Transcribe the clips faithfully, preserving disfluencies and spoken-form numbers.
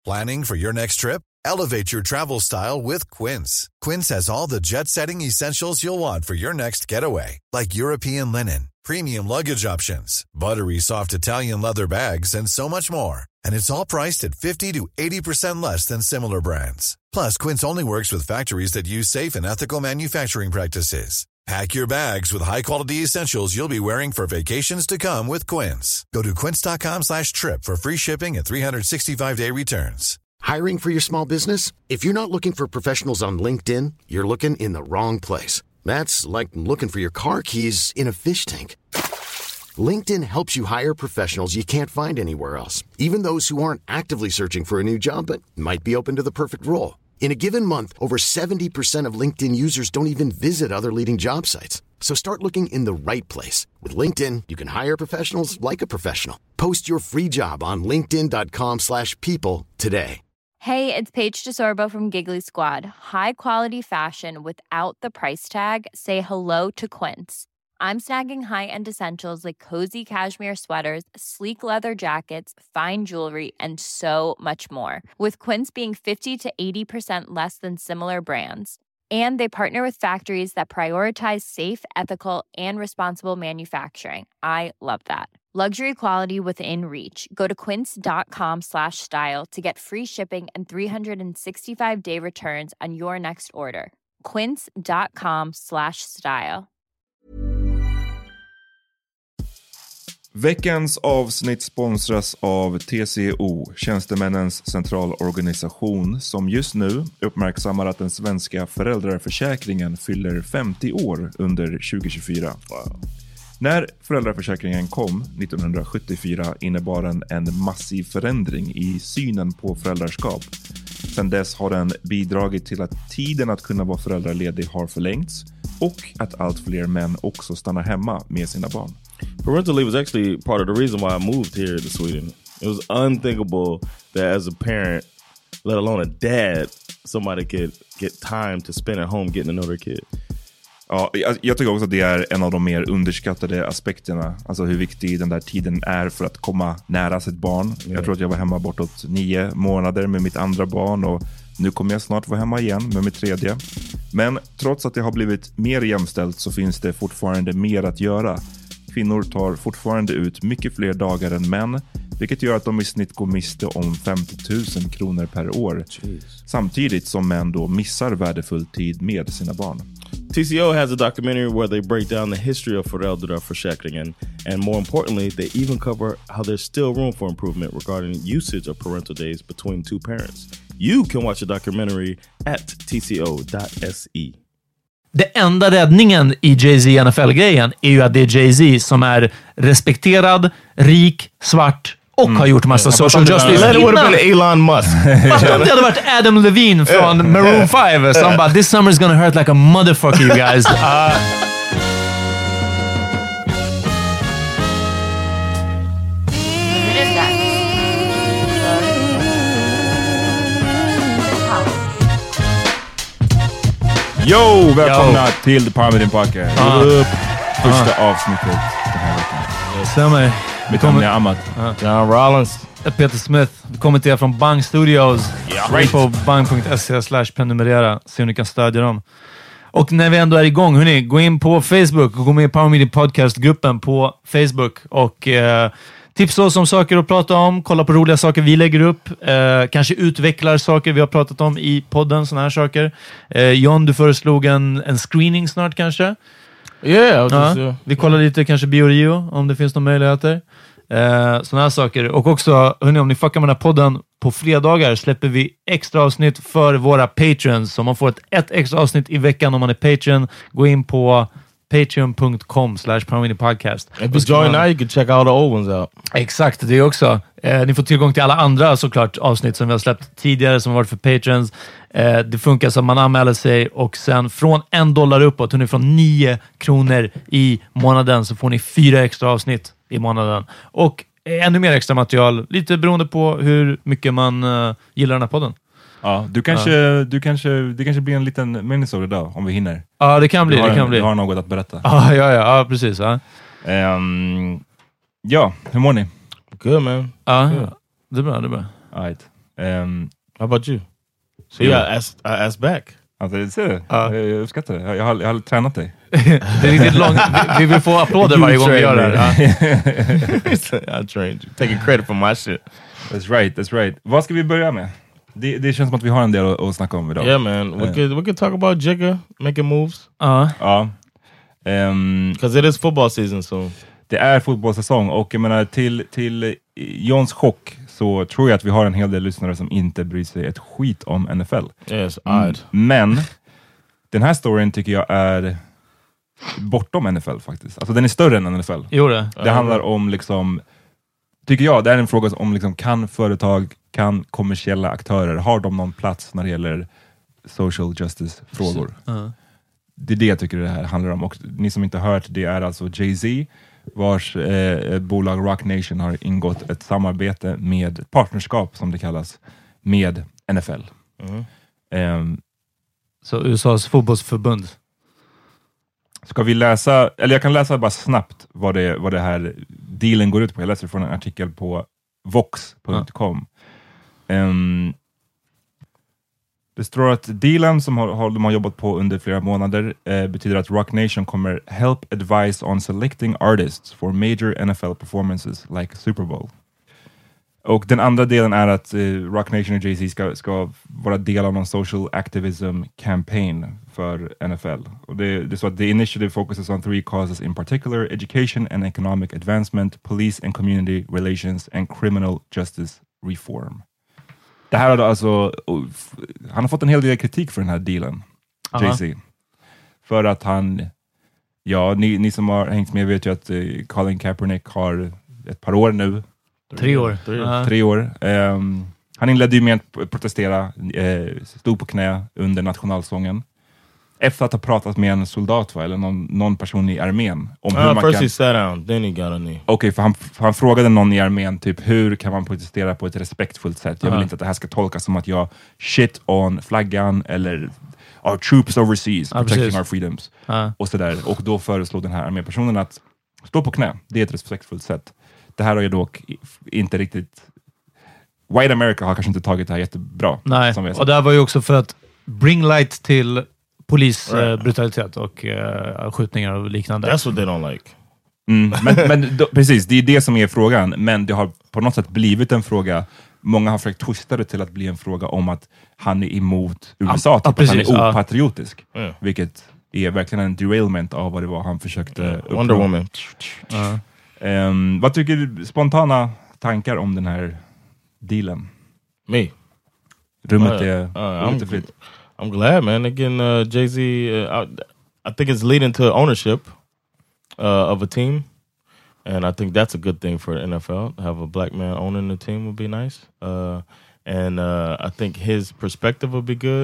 Planning for your next trip? Elevate your travel style with Quince. Quince has all the jet-setting essentials you'll want for your next getaway, like European linen, premium luggage options, buttery soft Italian leather bags, and so much more. And it's all priced at fifty to eighty percent less than similar brands. Plus, Quince only works with factories that use safe and ethical manufacturing practices. Pack your bags with high-quality essentials you'll be wearing for vacations to come with Quince. Go to quince.com slash trip for free shipping and three sixty-five day returns. Hiring for your small business? If you're not looking for professionals on LinkedIn, you're looking in the wrong place. That's like looking for your car keys in a fish tank. LinkedIn helps you hire professionals you can't find anywhere else, even those who aren't actively searching for a new job but might be open to the perfect role. In a given month, over seventy percent of LinkedIn users don't even visit other leading job sites. So start looking in the right place. With LinkedIn, you can hire professionals like a professional. Post your free job on linkedin.com slash people today. Hey, it's Paige DeSorbo from Giggly Squad. High quality fashion without the price tag. Say hello to Quince. I'm snagging high-end essentials like cozy cashmere sweaters, sleek leather jackets, fine jewelry, and so much more. With Quince being fifty to eighty percent less than similar brands. And they partner with factories that prioritize safe, ethical, and responsible manufacturing. I love that. Luxury quality within reach. Go to quince.com slash style to get free shipping and three sixty-five day returns on your next order. Quince.com slash style. Veckans avsnitt sponsras av T C O, Tjänstemännens centralorganisation, som just nu uppmärksammar att den svenska föräldraförsäkringen fyller femtio år under tjugo tjugofyra. Wow. När föräldraförsäkringen kom nittonhundrasjuttiofyra innebar den en massiv förändring i synen på föräldraskap. Sedan dess har den bidragit till att tiden att kunna vara föräldraledig har förlängts och att allt fler män också stannar hemma med sina barn. Parental leave was actually part of the reason why I moved here to Sweden. It was unthinkable that as a parent, let alone a dad, somebody could get time to spend at home getting to know their kid. Ja, jag, jag tycker också att det är en av de mer underskattade aspekterna. Alltså hur viktig den där tiden är för att komma nära sitt barn. Yeah. Jag tror att jag var hemma bortåt nio månader med mitt andra barn och nu kommer jag snart vara hemma igen med mitt tredje. Men trots att det har blivit mer jämställt så finns det fortfarande mer att göra. Kvinnor tar fortfarande ut mycket fler dagar än män, vilket gör att de i snitt går miste om femtio tusen kronor per år. Jeez. Samtidigt som män då missar värdefull tid med sina barn. T C O has a documentary where they break down the history of föräldraförsäkringen, and more importantly, they even cover how there's still room for improvement regarding usage of parental days between two parents. You can watch the documentary at t c o dot s e. Det enda räddningen i Jay-Z N F L-grejen är ju att det är Jay-Z som är respekterad, rik, svart och mm. har gjort massa yeah. social justice. That would have been Elon Musk. Fast om det hade varit Adam Levine från Maroon five som bara, this summer is gonna hurt like a motherfucker, you guys. Uh, Yo, välkomna Yo. till The Parmidin Podcast. Uh. Första uh. avsnittet den här veckan. Stämmer. Vi kommer med Amat. Uh. John Rollins. Peter Smith. Vi kommer till er från Bang Studios. Yeah. Right. På bang punkt se slash prenumerera. Se om ni kan stödja dem. Och när vi ändå är igång, hörni, gå in på Facebook och gå med i Parmidin Podcast-gruppen på Facebook. Och eh, tipsa oss om saker att prata om. Kolla på roliga saker vi lägger upp. Eh, kanske utvecklar saker vi har pratat om i podden. Såna här saker. Eh, John, du föreslog en, en screening snart kanske. Yeah, ja, just, vi kollar lite kanske BioRio om det finns några möjligheter. Eh, såna här saker. Och också, hörni, om ni fuckar med den här podden, på fredagar släpper vi extra avsnitt för våra patrons. Så man får ett, ett extra avsnitt i veckan om man är patron. Gå in på patreon dot com slash Parmidin Podcast. If you join now you can check all the old ones out. Exakt, det också. Eh, ni får tillgång till alla andra såklart avsnitt som vi har släppt tidigare som har varit för patrons. Eh, det funkar som man anmäler sig och sen från en dollar uppåt, ni från nio kronor i månaden så får ni fyra extra avsnitt i månaden. Och ännu mer extra material, lite beroende på hur mycket man uh, gillar den här podden. Ja, du kanske, ja. du kanske, det kanske blir en liten minisode idag om vi hinner. Ja, det kan bli. Du har, det kan en, bli. Du har något att berätta. Ja, ja, ja, ja precis. Ja. Um, ja, hur mår ni? Good, man. Ja, Good. det är bra, det är bra. All right. Um, How about you? So yeah, I asked, I asked back. Alltså, ser du? Uh. Jag uppskattar det. Jag, jag, har, jag har tränat dig. Det är riktigt långt. Vi, vi vill få applåder varje gång vi gör det här. I trained you. Taking credit for my shit. That's right, that's right. Vad ska vi börja med? Det, det känns som att vi har en del att, att snacka om idag. Yeah man, we, uh. could, we could talk about Jigga making moves. Uh. Ja. Um, Because it is football season soon. Det är fotbollssäsong och jag menar till, till Johns chock så tror jag att vi har en hel del lyssnare som inte bryr sig ett skit om N F L. Yes, odd. Men den här storyn tycker jag är bortom N F L faktiskt. Alltså den är större än N F L. Jo det. Det handlar om liksom, tycker jag, det är en fråga om liksom, kan företag, kan kommersiella aktörer, har de någon plats när det gäller social justice-frågor? Uh-huh. Det är det jag tycker det här handlar om. Och ni som inte har hört, det är alltså Jay-Z vars eh, bolag Roc Nation har ingått ett samarbete med ett partnerskap som det kallas med N F L. Mm. Um, Så U S A:s fotbollsförbund. Ska vi läsa, eller jag kan läsa bara snabbt vad det, vad det här dealen går ut på. Jag läser från en artikel på vox punkt com. Mm. Um, Det står att dealen som har, har, de har jobbat på under flera månader eh, betyder att Roc Nation kommer help advise on selecting artists for major N F L performances like Super Bowl. Och den andra delen är att eh, Roc Nation och Jay-Z ska, ska vara del av någon social activism campaign för N F L. Och det, det är så att the initiative focuses on three causes in particular: education and economic advancement, police and community relations, and criminal justice reform. Det här har då alltså, han har fått en hel del kritik för den här dealen, uh-huh. Jay-Z. För att han, ja, ni, ni som har hängt med vet ju att uh, Colin Kaepernick har ett par år nu. Tre år. Tre, uh-huh. tre år. Um, han inledde ju med att protestera, uh, stod på knä under nationalsången. Efter att ha pratat med en soldat, va? Eller någon, någon person i armén. Om uh, hur man first kan... he sat down, then he got a knee. Okej, okay, för han, för han frågade någon i armén typ, hur kan man protestera på ett respektfullt sätt? Jag vill uh-huh. inte att det här ska tolkas som att jag shit on flaggan eller our troops overseas, uh, protecting precis. our freedoms. Uh. Och sådär. Och då föreslog den här armépersonen att stå på knä. Det är ett respektfullt sätt. Det här har ju dock inte riktigt... White America har kanske inte tagit det här jättebra. Nej, som vi har och det här var ju också för att bring light till polisbrutalitet uh, och uh, skjutningar och liknande. That's what they don't like. Mm, men men då, precis, det är det som är frågan. Men det har på något sätt blivit en fråga. Många har försökt twista det till att bli en fråga om att han är emot U S A. Ja, typ, precis, att han är opatriotisk. Ja. Mm. Vilket är verkligen en derailment av vad det var han försökte mm. uppnå. Wonder Woman. Uh. Um, vad tycker du, spontana tankar om den här dealen? Me? Rummet uh, är, uh, rummet är fritt. I'm glad, man. Again, uh, Jay-Z, uh, I, I think it's leading to ownership uh, of a team. And I think that's a good thing for the N F L. To have a black man owning the team would be nice. Uh, and uh, I think his perspective would be good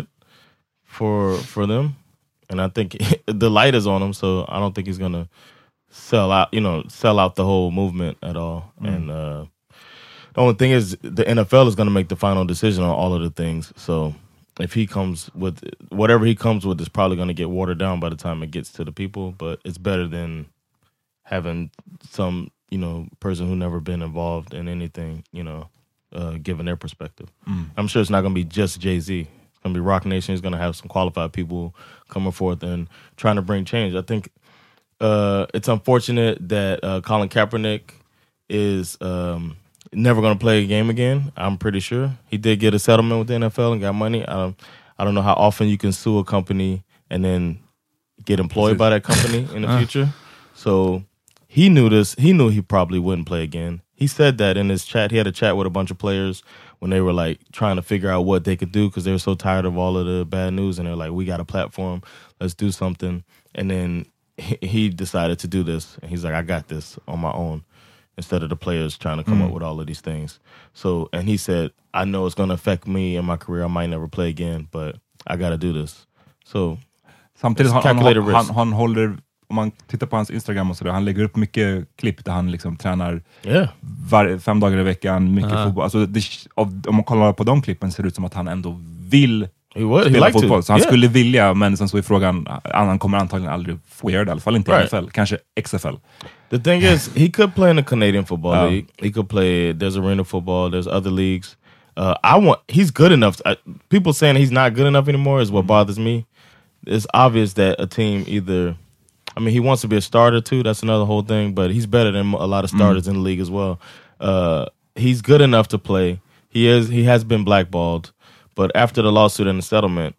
for for them. And I think the light is on him, so I don't think he's going to sell out, you know, sell out the whole movement at all. Mm. And uh, the only thing is the N F L is going to make the final decision on all of the things. So if he comes with whatever he comes with is probably going to get watered down by the time it gets to the people, but it's better than having some, you know, person who never been involved in anything, you know, uh, giving their perspective. Mm. I'm sure it's not going to be just Jay-Z. It's going to be Roc Nation. It's going to have some qualified people coming forth and trying to bring change. I think uh, it's unfortunate that uh, Colin Kaepernick is um, never going to play a game again. I'm pretty sure he did get a settlement with the N F L and got money. I don't, I don't know how often you can sue a company and then get employed by that company in the future. So he knew this. He knew he probably wouldn't play again. He said that in his chat. He had a chat with a bunch of players when they were like trying to figure out what they could do because they were so tired of all of the bad news. And they're like, we got a platform. Let's do something. And then he, he decided to do this. And he's like, I got this on my own. Instead of the players trying to come mm. up with all of these things. So, and he said, I know it's going to affect me and my career. I might never play again, but I got to do this. So, samtidigt han, han, han, han håller, om man tittar på hans Instagram och sådär, han lägger upp mycket klipp där han liksom tränar yeah. var, fem dagar i veckan, mycket uh-huh. fotboll. Alltså det, om man kollar på de klippen ser det ut som att han ändå vill was, spela fotboll. To. Så han yeah. skulle vilja, men sen så är frågan, han kommer antagligen aldrig få göra det, i alla fall inte right. i N F L, kanske X F L. The thing is, he could play in the Canadian Football uh, League. He could play, there's arena football, there's other leagues. Uh, I want he's good enough. To, uh, people saying he's not good enough anymore is what bothers me. It's obvious that a team either, I mean, he wants to be a starter too. That's another whole thing. But he's better than a lot of starters mm. in the league as well. Uh, he's good enough to play. He is. He has been blackballed. But after the lawsuit and the settlement,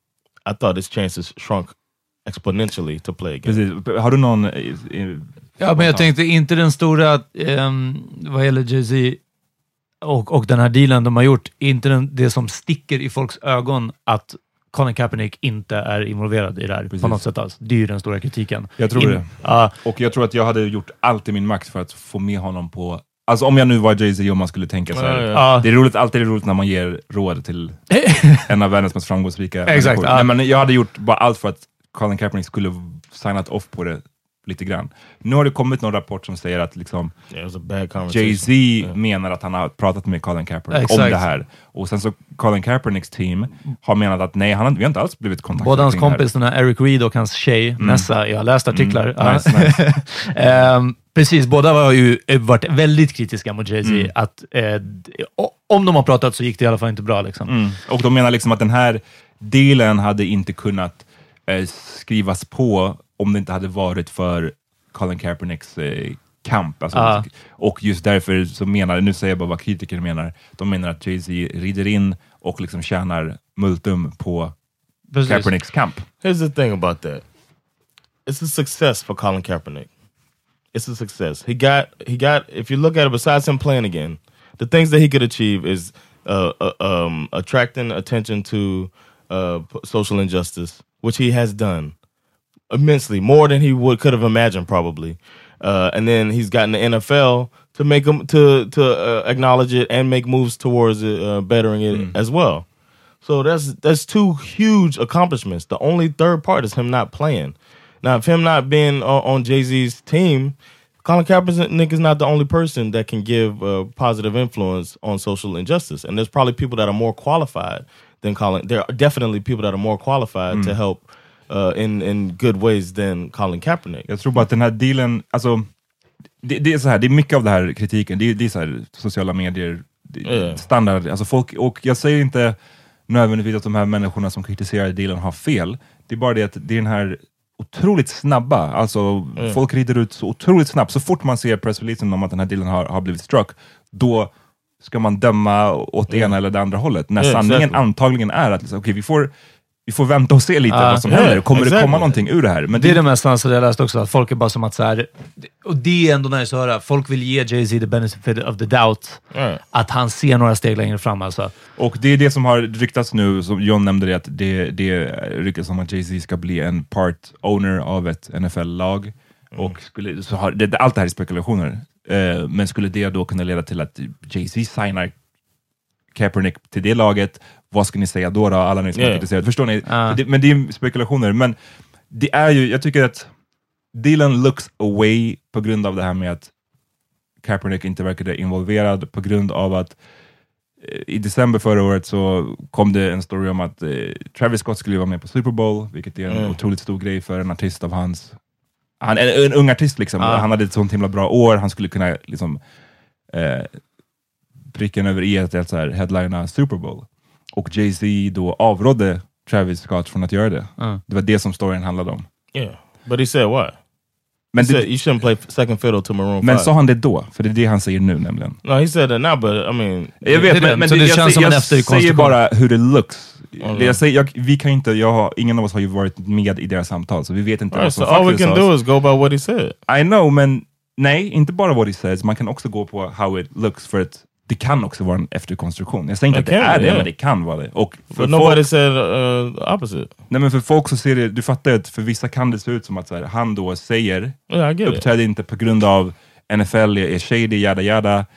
I thought his chances shrunk exponentially to play again. Precis. Har du någon... I, i, ja, men jag tänkte inte den stora, um, vad gäller Jay-Z och, och den här dealen de har gjort, inte den, det som sticker i folks ögon att Colin Kaepernick inte är involverad i det här. Precis. På något sätt alls. Det är ju den stora kritiken. Jag tror In, det. Uh, och jag tror att jag hade gjort allt i min makt för att få med honom på... Alltså om jag nu var Jay-Z och man skulle tänka så här. Ja, ja. Det är roligt, alltid är det roligt när man ger råd till en av världens mest framgångsrika Exakt. Ja. Nej, men jag hade gjort bara allt för att Colin Kaepernick skulle signat off på det lite grann. Nu har det kommit någon rapport som säger att liksom yeah, Jay-Z yeah. menar att han har pratat med Colin Kaepernick Exakt. om det här. Och sen så Colin Kaepernicks team har menat att nej, han har, vi har inte alls blivit kontaktade. Både hans kompis, den här Eric Reed och hans tjej, mm. Nessa, jag har läst artiklar. Mm. Nice, nice. um, precis, båda har ju varit väldigt kritiska mot Jay-Z. Mm. Att eh, om de har pratat så gick det i alla fall inte bra. Liksom. Mm. Och de menar liksom att den här dealen hade inte kunnat eh, skrivas på om det inte hade varit för Colin Kaepernicks eh, kamp. Alltså, ah. Och just därför så menar, nu säger jag bara vad kritiker menar, de menar att Jay-Z rider in och liksom tjänar multum på Precis. Kaepernicks kamp. Here's the thing about that. It's a success for Colin Kaepernick. It's a success. He got, he got, if you look at it, besides him playing again, the things that he could achieve is uh, uh, um, attracting attention to uh, social injustice, which he has done. Immensely, more than he would could have imagined probably, uh, and then he's gotten the N F L to make him to to uh, acknowledge it and make moves towards it, uh, bettering it mm. as well. So that's that's two huge accomplishments. The only third part is him not playing. Now, if him not being on, on Jay-Z's team, Colin Kaepernick is not the only person that can give a positive influence on social injustice, and there's probably people that are more qualified than Colin. There are definitely people that are more qualified mm. to help. Uh, in, in good ways than Colin Kaepernick. Jag tror bara att den här dealen, alltså det, det är så här, det är mycket av det här kritiken, det är, det är så här sociala medier yeah. standard, alltså folk, och jag säger inte nödvändigtvis att de här människorna som kritiserar dealen har fel, det är bara det att det är den här otroligt snabba, alltså yeah. folk rider ut så otroligt snabbt, så fort man ser pressreleasen om att den här dealen har, har blivit struck, då ska man döma åt det yeah. ena eller det andra hållet, när yeah, sanningen exactly. antagligen är att liksom, okej, okay, vi får Vi får vänta och se lite uh, vad som yeah, händer. Kommer exactly. det komma någonting ur det här? Men det är det, det mest ansvar jag läst också. Att folk är bara som att så här, och det är ändå nice att höra. Folk vill ge Jay-Z the benefit of the doubt. Mm. Att han ser några steg längre fram. Alltså. Och det är det som har ryktats nu. Som John nämnde det. Att det, det ryktas som att Jay-Z ska bli en part owner av ett N F L-lag. Mm. Och skulle, så har, det, allt det här är spekulationer. Uh, men skulle det då kunna leda till att Jay-Z signar Kaepernick till det laget, vad ska ni säga då då? Alla ni som yeah. har kritiserat. Förstår ni? Uh. Det, men det är spekulationer. Men det är ju, jag tycker att dealen looks away på grund av det här med att Kaepernick inte verkade involverad, på grund av att eh, i december förra året så kom det en story om att eh, Travis Scott skulle vara med på Super Bowl, vilket är en mm. otroligt stor grej för en artist av hans, han, en, en ung artist liksom. Uh. Han hade ett sånt himla bra år, han skulle kunna liksom eh, pricken över i att så här headlina Super Bowl. Och Jay-Z då avrådde Travis Scott från att göra det. Uh. Det var det som storyn handlade om. Yeah, but he said what? Men he det, said you shouldn't play second fiddle to Maroon Men five. sa han det då? För det är det han säger nu nämligen. No, he said that now, but I mean... Jag vet, men, men så det, det jag, känns jag, som jag säger bara hur det looks. Mm. Jag säger, jag, vi kan inte, jag har, ingen av oss har ju varit med i deras samtal, så vi vet inte right, vad som so all we can do is go by what he said. I know, men nej, inte bara what he says. Man kan också gå på how it looks, för att det kan också vara en efterkonstruktion. Jag säger inte it att det can, är det, yeah. men det kan vara det. Och för But nobody folk, said uh, opposite. Nej, men för folk så ser det, du fattar att för vissa kan det se ut som att så här, han då säger, yeah, uppträder inte på grund av N F L är shady, jada jada.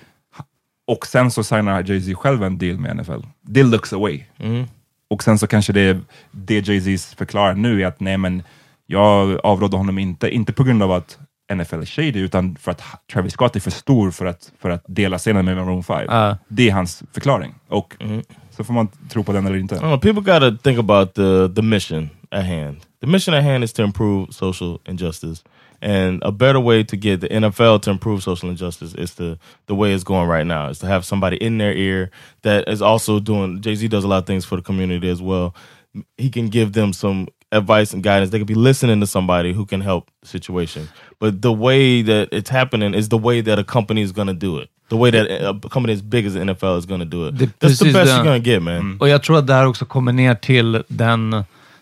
Och sen så signar Jay-Z själv en deal med N F L. Det looks away. Mm. Och sen så kanske det, det Jay-Z förklarar nu är att nej, men jag avrådde honom inte, inte på grund av att N F L är shady, utan för att Travis Scott är för stor för att, för att dela scenen med Maroon five. Uh. Det är hans förklaring. Och mm. så får man tro på den eller inte. Oh, people gotta think about the, the mission at hand. The mission at hand is to improve social injustice And a better way to get the N F L to improve social injustice is the the way it's going right now, is to have somebody in their ear that is also doing, Jay-Z does a lot of things for the community as well. He can give them some advice and guidance. They could be listening to somebody who can help the situation. But the way that it's happening is the way that a company is going to do it. The way that a company as big as the N F L is going to do it. Det, That's the best den. You're going to get, man. Mm. Och jag tror att det här också kommer ner till den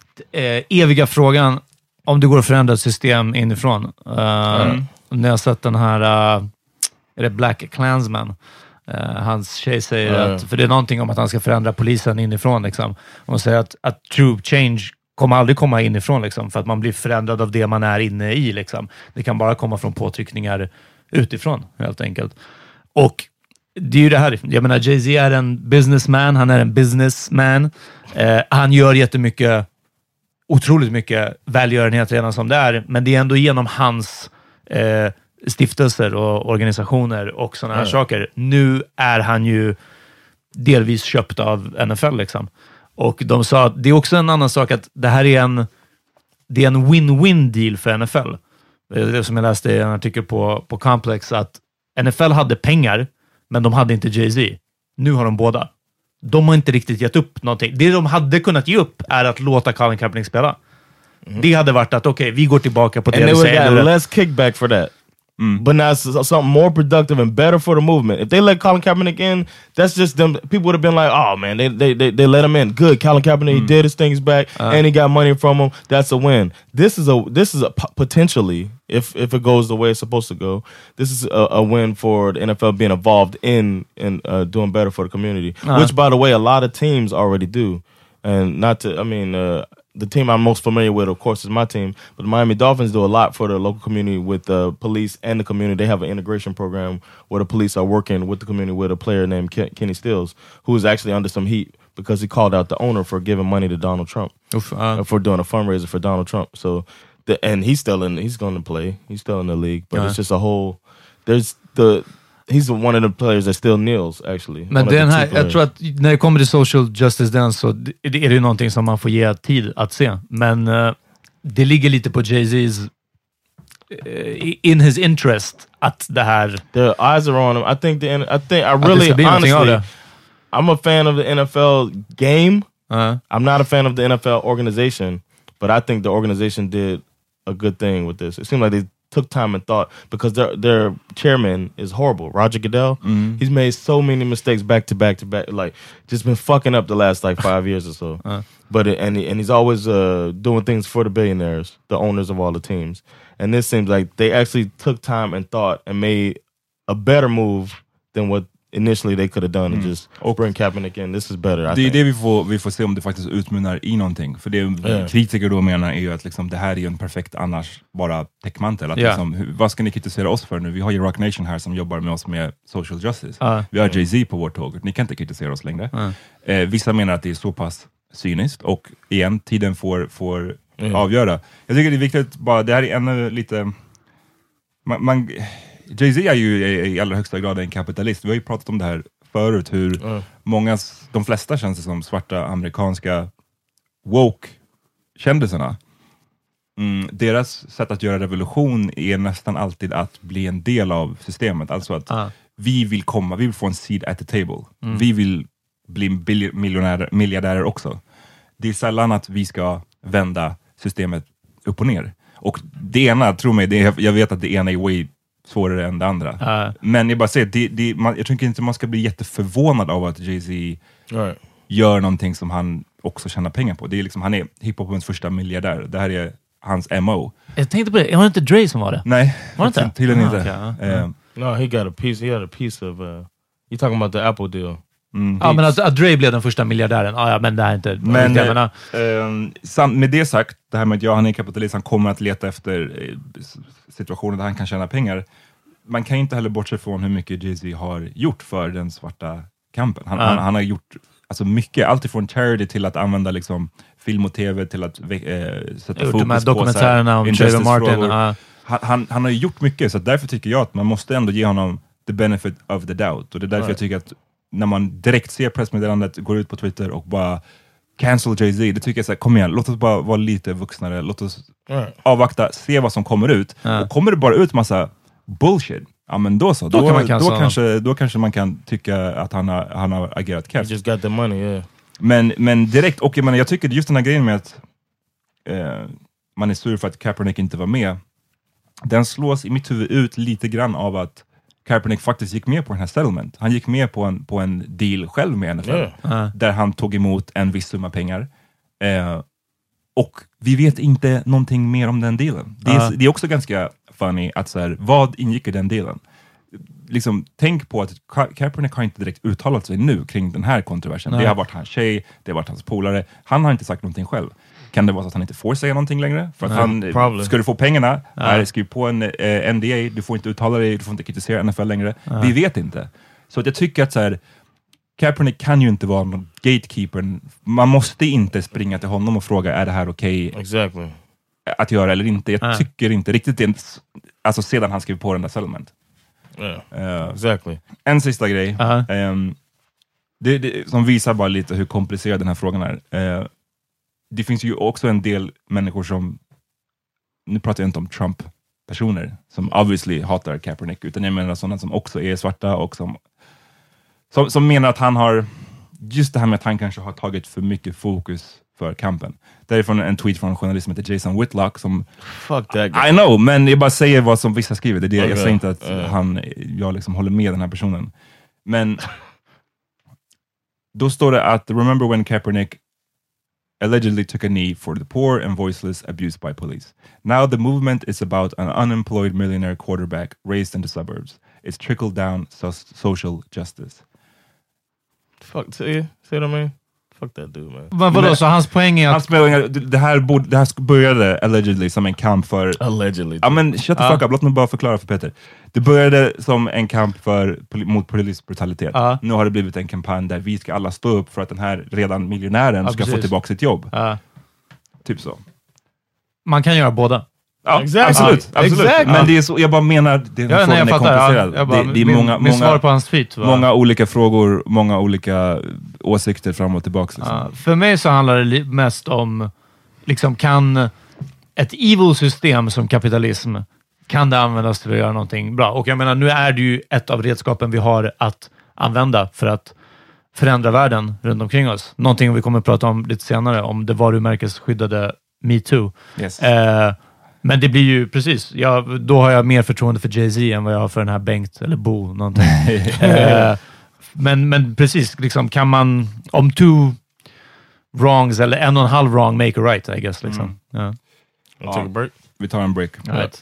eh, eviga frågan om det går att förändra ett system inifrån. Uh, mm. När jag sett den här uh, är det Black Klansman. Uh, hans tjej säger mm. att, för det är någonting om att han ska förändra polisen inifrån liksom. Och hon säger att, att true change kommer aldrig komma inifrån liksom, för att man blir förändrad av det man är inne i liksom. Det kan bara komma från påtryckningar utifrån, helt enkelt. Och det är ju det här, jag menar, Jay-Z är en businessman, han är en businessman. Eh, han gör jättemycket, otroligt mycket välgörenhet redan som det är, men det är ändå genom hans eh, stiftelser och organisationer och sådana här mm. saker. Nu är han ju delvis köpt av N F L liksom. Och de sa att det är också en annan sak att det här är en det är en win-win deal för N F L. Det är det som jag läste i en artikel på, på Complex, att N F L hade pengar, men de hade inte Jay-Z. Nu har de båda. De har inte riktigt gett upp någonting. Det de hade kunnat ge upp är att låta Colin Kaepernick spela. Mm. Det hade varit att okej, okay, vi går tillbaka på det. And they would get less kickback for that. Mm. But now it's something more productive and better for the movement. If they let Colin Kaepernick in, that's just them. People would have been like, "Oh man, they they they, they let him in. Good, Colin Kaepernick, mm. he did his things back, uh. and he got money from him. That's a win. This is a this is a potentially, if if it goes the way it's supposed to go, this is a, a win for the N F L being involved in in uh, doing better for the community. Uh. Which, by the way, a lot of teams already do. And not to, I mean. Uh, The team I'm most familiar with, of course, is my team. But the Miami Dolphins do a lot for the local community with the police and the community. They have an integration program where the police are working with the community with a player named Ken- Kenny Stills, who is actually under some heat because he called out the owner for giving money to Donald Trump, Oof, uh, for doing a fundraiser for Donald Trump. So, the, and he's still in. He's going to play. He's still in the league. But uh-huh. it's just a whole. There's the. He's one of the players that still kneels, actually. Men den här, jag tror att när det kommer till social justice dance så är det ju någonting som man får ge tid att se. Men uh, det ligger lite på Jay-Z's uh, in his interest att det här... The eyes are on him. I think the I think I really honestly I'm a fan of the N F L game. Uh-huh. I'm not a fan of the N F L organization, but I think the organization did a good thing with this. It seemed like they took time and thought, because their their chairman is horrible. Roger Goodell, mm. he's made so many mistakes back to back to back, like just been fucking up the last like five years or so. Uh. But it, and he, and he's always uh, doing things for the billionaires, the owners of all the teams. And this seems like they actually took time and thought and made a better move than what initially they could have done and mm. just och bring Kaepernick in. This is better. I det think. är det vi får, vi får se om det faktiskt utmynnar i någonting. För det yeah. kritiker då menar är ju att liksom, det här är ju en perfekt annars bara täckmantel. Att yeah. liksom, vad ska ni kritisera oss för nu? Vi har ju Rock Nation här som jobbar med oss med social justice. Uh. Vi har Jay-Z på vårt tåg. Ni kan inte kritisera oss längre. Uh. Eh, vissa menar att det är så pass cyniskt. Och igen, tiden får, får mm. avgöra. Jag tycker det är viktigt bara, det här är ännu lite... Man... man Jay-Z är ju i, i allra högsta grad en kapitalist. Vi har ju pratat om det här förut, hur mm. många, de flesta känns det som svarta amerikanska woke-kändisarna. Mm, deras sätt att göra revolution är nästan alltid att bli en del av systemet. Alltså att uh. vi vill komma, vi vill få en seat at the table. Mm. Vi vill bli bil- miljonärer, miljardärer också. Det är sällan att vi ska vända systemet upp och ner. Och det ena, tro mig, det är, jag vet att det ena är way svårare än det andra. Uh. Men jag bara säger, det, det, man, jag tycker inte man ska bli jätteförvånad av att Jay-Z right. gör någonting som han också tjänar pengar på. Det är liksom, han är hiphopens första miljardär. Det här är hans M O. Jag tänkte på det, var det inte Dre som var det? Nej, var det inte? Tydligen inte. Okay, uh. Uh, no, he got a piece, he had a piece of, uh, you're talking about the Apple deal. Mm. Ja, men att, att Dre blev den första miljardären. Ah, ja, men det är inte... Men det, äh, äh, sam, med det sagt, det här med att ja, han är kapitalist, han kommer att leta efter eh, situationer där han kan tjäna pengar. Man kan inte heller bortse från hur mycket Jay-Z har gjort för den svarta kampen. Han, mm. han, han har gjort alltså mycket, allt ifrån charity till att använda liksom, film och tv till att eh, sätta fokus de här på dokumentärerna om Trayvon Martin. Uh. Han, han, han har gjort mycket, så därför tycker jag att man måste ändå ge honom the benefit of the doubt. Och det är därför mm. jag tycker att när man direkt ser pressmeddelandet, går ut på Twitter och bara cancel Jay-Z. Det tycker jag så här, kom igen, låt oss bara vara lite vuxnare. Låt oss Right. avvakta, se vad som kommer ut. Ja. Och kommer det bara ut massa bullshit, ja men då så. Då Då, kan man då, cancella kanske, då kanske man kan tycka att han har, han har agerat You cash. just got the money, yeah. Men, men direkt, och jag menar, jag tycker just den här grejen med att eh, man är sur för att Kaepernick inte var med, den slås i mitt huvud ut lite grann av att Kaepernick faktiskt gick med på den här settlement. Han gick med på en, på en deal själv med N F L. Yeah. Ja. Där han tog emot en viss summa pengar. Eh, och vi vet inte någonting mer om den dealen. Det är, Ja. det är också ganska funny att så här, vad ingick i den dealen? Liksom, tänk på att Ka- Kaepernick har inte direkt uttalat sig nu kring den här kontroversen. Nej. Det har varit hans tjej, det har varit hans polare. Han har inte sagt någonting själv. Kan det vara så att han inte får säga någonting längre? För att Nej, han, probably. ska du få pengarna, här, skriv på en eh, N D A, du får inte uttala dig, du får inte kritisera N F L längre. Vi vet inte. Så att jag tycker att så här, Kaepernick kan ju inte vara någon gatekeeper. Man måste inte springa till honom och fråga, är det här okej Exactly. att göra eller inte? Jag Nej. tycker inte riktigt det. Alltså sedan han skrev på den där settlement. Yeah. Eh, Exactly. en sista grej. Ja. Ehm, det, det, som visar bara lite hur komplicerad den här frågan är. Eh, det finns ju också en del människor som, nu pratar jag inte om Trump-personer, som obviously hatar Kaepernick, utan jag menar sådana som också är svarta och som, som, som menar att han har, just det här med att han kanske har tagit för mycket fokus för kampen. Därifrån en tweet från en journalist som heter Jason Whitlock som, Fuck that guy. I know, men jag bara säger vad som vissa skriver. Det är det. Okay. Jag säger inte att Yeah. han, jag liksom håller med den här personen. Men då står det att, remember when Kaepernick allegedly took a knee for the poor and voiceless abused by police. Now the movement is about an unemployed millionaire quarterback raised in the suburbs. It's trickled down so- social justice. Fuck, see, see what I mean? Fuck that dude, man. Men vadå, så hans poäng är Han att... spelar, det, här borde, det här började allegedly som en kamp för... Allegedly. Ja men shut the Ja. fuck up, låt mig bara förklara för Peter. Det började som en kamp för, poli- mot politisk brutalitet. Ja. Nu har det blivit en kampanj där vi ska alla stå upp för att den här redan miljonären Ja, ska få precis. tillbaka sitt jobb. Ja. Typ så. Man kan göra båda. Ja, Exactly. absolut. Ja, absolut. exactly. Men det är så, jag bara menar, det är, Ja, frågan nej, jag är fattar. komplicerad. Ja, jag bara, det, det är min, många, min svar många, på hans tweet var... många olika frågor, många olika åsikter fram och tillbaka. Liksom. Ja, för mig så handlar det li- mest om, liksom, kan ett evil system som kapitalism, kan det användas till att göra någonting bra? Och jag menar, nu är det ju ett av redskapen vi har att använda för att förändra världen runt omkring oss. Någonting vi kommer att prata om lite senare, om det varumärkesskyddade MeToo. Yes. Eh, men det blir ju precis, jag, då har jag mer förtroende för Jay-Z än vad jag har för den här Bengt eller Bo, någonting. eh, men, men precis, liksom, kan man, om two wrongs eller en och en halv wrong make a right, I guess. Liksom. Ja. Wanna take a break? Vi tar en break. All right.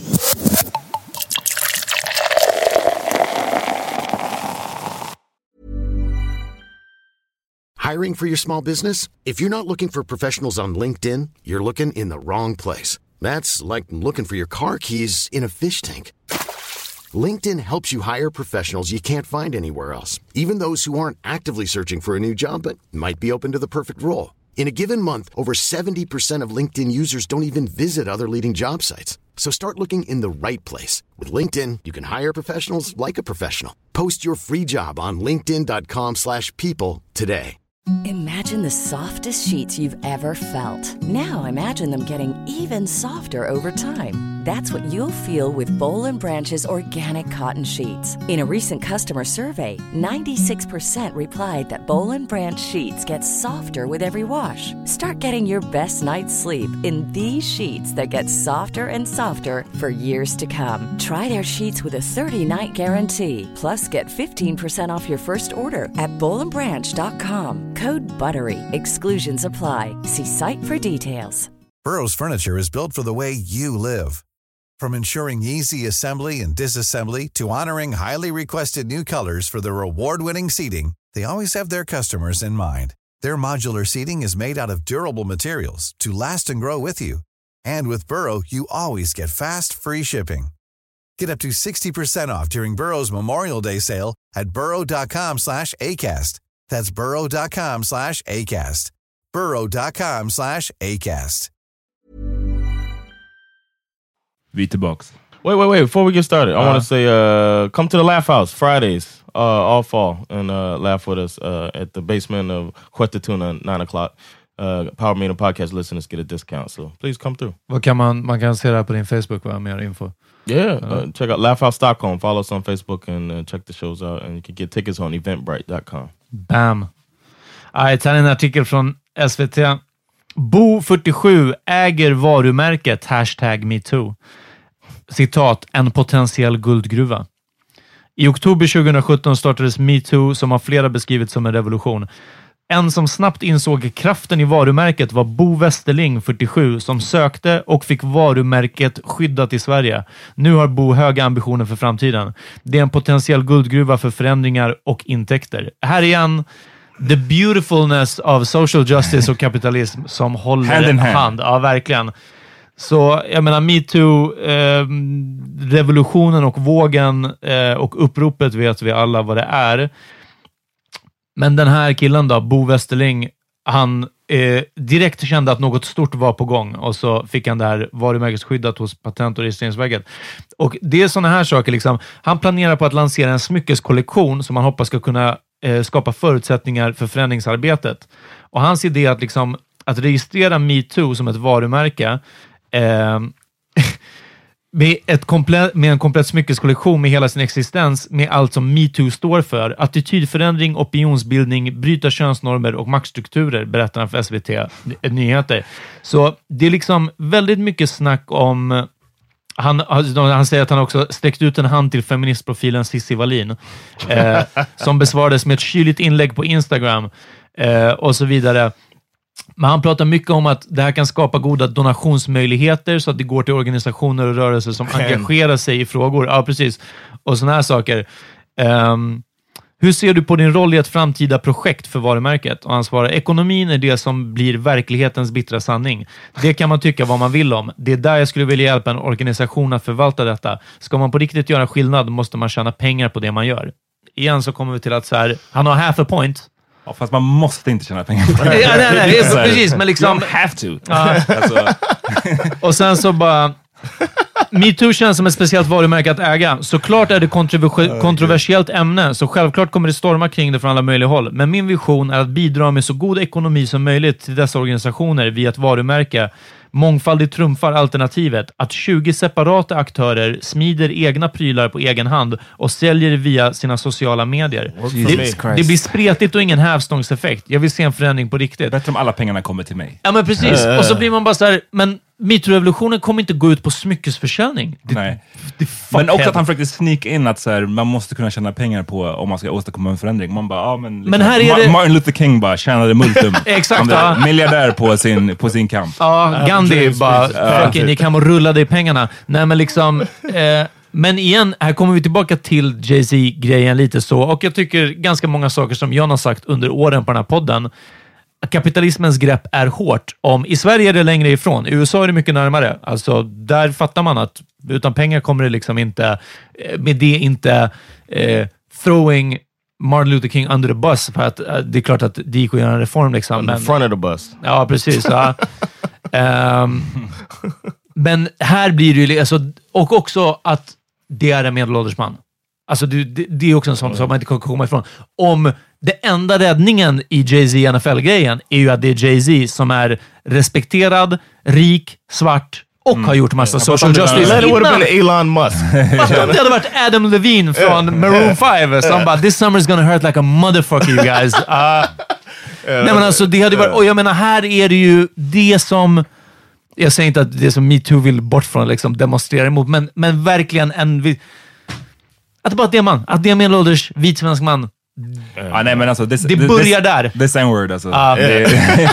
Hiring for your small business? If you're not looking for professionals on LinkedIn, you're looking in the wrong place. That's like looking for your car keys in a fish tank. LinkedIn helps you hire professionals you can't find anywhere else, even those who aren't actively searching for a new job but might be open to the perfect role. In a given month, over seventy percent of LinkedIn users don't even visit other leading job sites. So start looking in the right place. With LinkedIn, you can hire professionals like a professional. Post your free job on linkedin dot com slash people today. Imagine the softest sheets you've ever felt. Now imagine them getting even softer over time. That's what you'll feel with Bowl and Branch's organic cotton sheets. In a recent customer survey, ninety-six percent replied that Bowl and Branch sheets get softer with every wash. Start getting your best night's sleep in these sheets that get softer and softer for years to come. Try their sheets with a thirty-night guarantee. Plus, get fifteen percent off your first order at bowl and branch dot com. Code BUTTERY. Exclusions apply. See site for details. Burrow's furniture is built for the way you live. From ensuring easy assembly and disassembly to honoring highly requested new colors for their award-winning seating, they always have their customers in mind. Their modular seating is made out of durable materials to last and grow with you. And with Burrow, you always get fast, free shipping. Get up to sixty percent off during Burrow's Memorial Day sale at burrow dot com slash acast. That's burrow dot com slash acast. burrow dot com slash acast. Vi är tillbaks. Wait, wait, wait. Before we get started, I Uh-huh. want to say, uh, come to the Laugh House Fridays uh, all fall and uh, laugh with us uh, at the basement of Quetetuna at nine o'clock. Uh, Power Meeting podcast listeners get a discount, so please come through. Vad kan man, man kan se det här på din Facebook, va? Mer info. Yeah, uh, uh, check out Laugh Out Stockholm. Follow us on Facebook and uh, check the shows out. And you can get tickets on eventbrite dot com. Bam. Right, här är en artikel från S V T. Bo fyrtiosju äger varumärket hashtag MeToo. Citat, en potentiell guldgruva. I oktober tjugohundrasjutton startades MeToo som har flera beskrivit som en revolution. En som snabbt insåg kraften i varumärket var Bo Westerling, fyrtiosju, som sökte och fick varumärket skyddat i Sverige. Nu har Bo höga ambitioner för framtiden. Det är en potentiell guldgruva för förändringar och intäkter. Här är en the beautifulness of social justice och kapitalism som håller hand in hand. hand. Ja, verkligen. Så jag menar, MeToo, eh, revolutionen och vågen eh, och uppropet vet vi alla vad det är. Men den här killen då, Bo Westerling, han eh, direkt kände att något stort var på gång och så fick han det här varumärkesskyddat hos Patent- och registreringsverket. Och det är sådana här saker liksom. Han planerar på att lansera en smyckeskollektion som han hoppas ska kunna eh, skapa förutsättningar för förändringsarbetet. Och hans idé är att, liksom, att registrera MeToo som ett varumärke eh, Med, ett komplett, med en komplett smyckeskollektion med hela sin existens, med allt som MeToo står för. Attitydförändring, opinionsbildning, bryta könsnormer och maktstrukturer, berättar han för S V T Nyheter. Så det är liksom väldigt mycket snack om... Han, han säger att han också sträckt ut en hand till feministprofilen Cissi Wallin, eh, som besvarades med ett kyligt inlägg på Instagram eh, och så vidare. Men han pratar mycket om att det här kan skapa goda donationsmöjligheter så att det går till organisationer och rörelser som engagerar sig i frågor. Ja, precis. Och såna här saker. Um, hur ser du på din roll i ett framtida projekt för varumärket? Och han svarar, ekonomin är det som blir verklighetens bittra sanning. Det kan man tycka vad man vill om. Det är där jag skulle vilja hjälpa en organisation att förvalta detta. Ska man på riktigt göra skillnad måste man tjäna pengar på det man gör. Igen så kommer vi till att så här, han har half a point. Ja, fast man måste inte tjäna pengar på det. Ja, nej, nej, det är precis, men liksom... You don't have to. Ja. Alltså. Och sen så bara... MeToo känns som ett speciellt varumärke att äga. Såklart är det kontrovers- kontroversiellt ämne, så självklart kommer det storma kring det från alla möjliga håll. Men min vision är att bidra med så god ekonomi som möjligt till dessa organisationer via ett varumärke. Mångfaldigt trumfar alternativet att tjugo separata aktörer smider egna prylar på egen hand och säljer via sina sociala medier. Det, det blir spretigt och ingen hävstångseffekt. Jag vill se en förändring på riktigt. Bättre om alla pengarna kommer till mig. Ja, men precis. Och så blir man bara så här, men MeToo-revolutionen kommer inte gå ut på smyckesförsäljning. Det, Nej. Det men också att han försökte sneak in att så här, man måste kunna tjäna pengar på om man ska åstadkomma en förändring. Man bara, ja men... Liksom, men här är Ma- det... Martin Luther King bara tjänade multum. Exakt, ja. Miljardär på sin, på sin kamp. Ja, Gandhi uh, bara, fucking, ni kan och rullade i pengarna. Nej, men liksom... Eh, men igen, här kommer vi tillbaka till Jay-Z-grejen lite så. Och jag tycker ganska många saker som John har sagt under åren på den här podden. Kapitalismens grepp är hårt. Om, i Sverige är det längre ifrån. I U S A är det mycket närmare. Alltså, där fattar man att utan pengar kommer det liksom inte... Med det inte... Eh, throwing Martin Luther King under the bus. För att eh, det är klart att det gick att göra en reform. Liksom, on the men, front of the bus. Ja, precis. Ja. um, men här blir det ju... Alltså, och också att det är en medelålders man. Alltså, det, det, det är också en sån mm. sak man inte kan komma ifrån. Om... Det enda räddningen i Jay-Z N F L-grejen är ju att det är Jay-Z som är respekterad, rik, svart och mm. har gjort massa yeah. social justice. Det would have been Elon Musk. Fast om det hade varit Adam Levine från Maroon five som bara, this summer is gonna hurt like a motherfucker you guys. Uh, nej men alltså det hade varit, och jag menar här är det ju det som, jag säger inte att det som MeToo vill bort från liksom demonstrera emot, men, men verkligen en, att det bara är det man, att det är en medelålders vit svensk man. Mm. Ah, nej, men alltså, this, det this, börjar där. The same word alltså. Ah, det,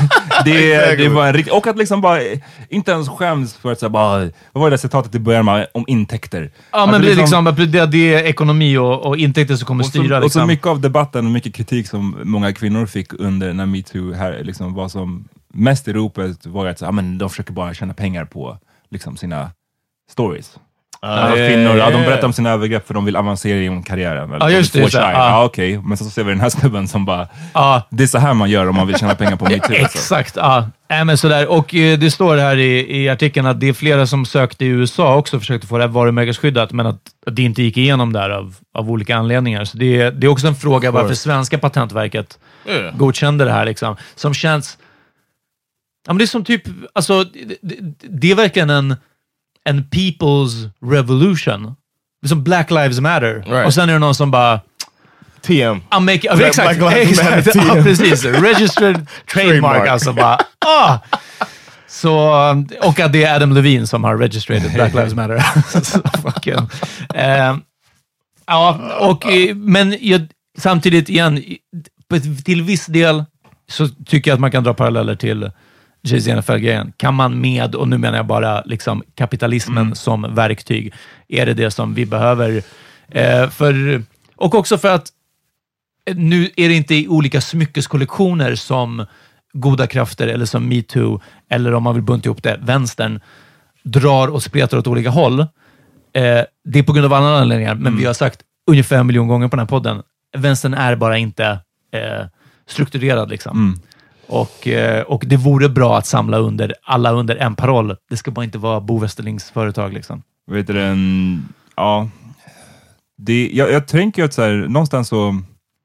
det, det var en rikt, och att liksom bara inte ens skäms för att säga bara, vad var det citatet i början med om intäkter? Ja, men det, liksom, liksom, det, det är ekonomi och, och intäkter som kommer och så, styra. Och liksom. så mycket av debatten och mycket kritik som många kvinnor fick under när MeToo här liksom var som mest i ropet var att så, ah, men de försöker bara tjäna pengar på liksom sina stories. Uh, kvinnor, ja, de berättar om sina övergrepp för de vill avancera i karriären. Ja, just det. Ja, ah, okej. Okay. Men så ser vi den här snubben som bara, ah. det är så här man gör om man vill tjäna pengar på MeToo. Exakt, ja. Äh, men sådär. Och eh, det står här i, i artikeln att det är flera som sökte i U S A också, försökte få det här varumärkesskyddat, men att, att det inte gick igenom där av, av olika anledningar. Så det, det är också en fråga varför svenska patentverket mm. godkände det här, liksom. Som känns... Ja, men det är som typ... Alltså, det, det, det är verkligen en, en people's revolution. Det är som Black Lives Matter. Right. Och sen är det någon som bara... T M. I'm making, Black, exakt, Black Lives exakt. Matter, ja, precis. Registered trademark, alltså bara... Ah! Så, och att det är Adam Levine som har registered Black Lives Matter. Så, fucking. Uh, ja, och, men jag, samtidigt igen, till viss del så tycker jag att man kan dra paralleller till Jay-Z N F L-grejen. Kan man med, och nu menar jag bara liksom kapitalismen mm. som verktyg, är det det som vi behöver? Uh, för, och också för att nu är det inte i olika smyckeskollektioner som goda krafter eller som MeToo, eller om man vill bunta ihop det, vänstern drar och spretar åt olika håll. Eh, det är på grund av andra anledningar, men mm. vi har sagt ungefär en miljon gånger på den här podden, vänstern är bara inte eh, strukturerad liksom. Mm. Och, eh, och det vore bra att samla under alla under en paroll. Det ska bara inte vara Bo Westerlings företag liksom. Vet du, en, ja, det, jag, jag tänker att så här, någonstans så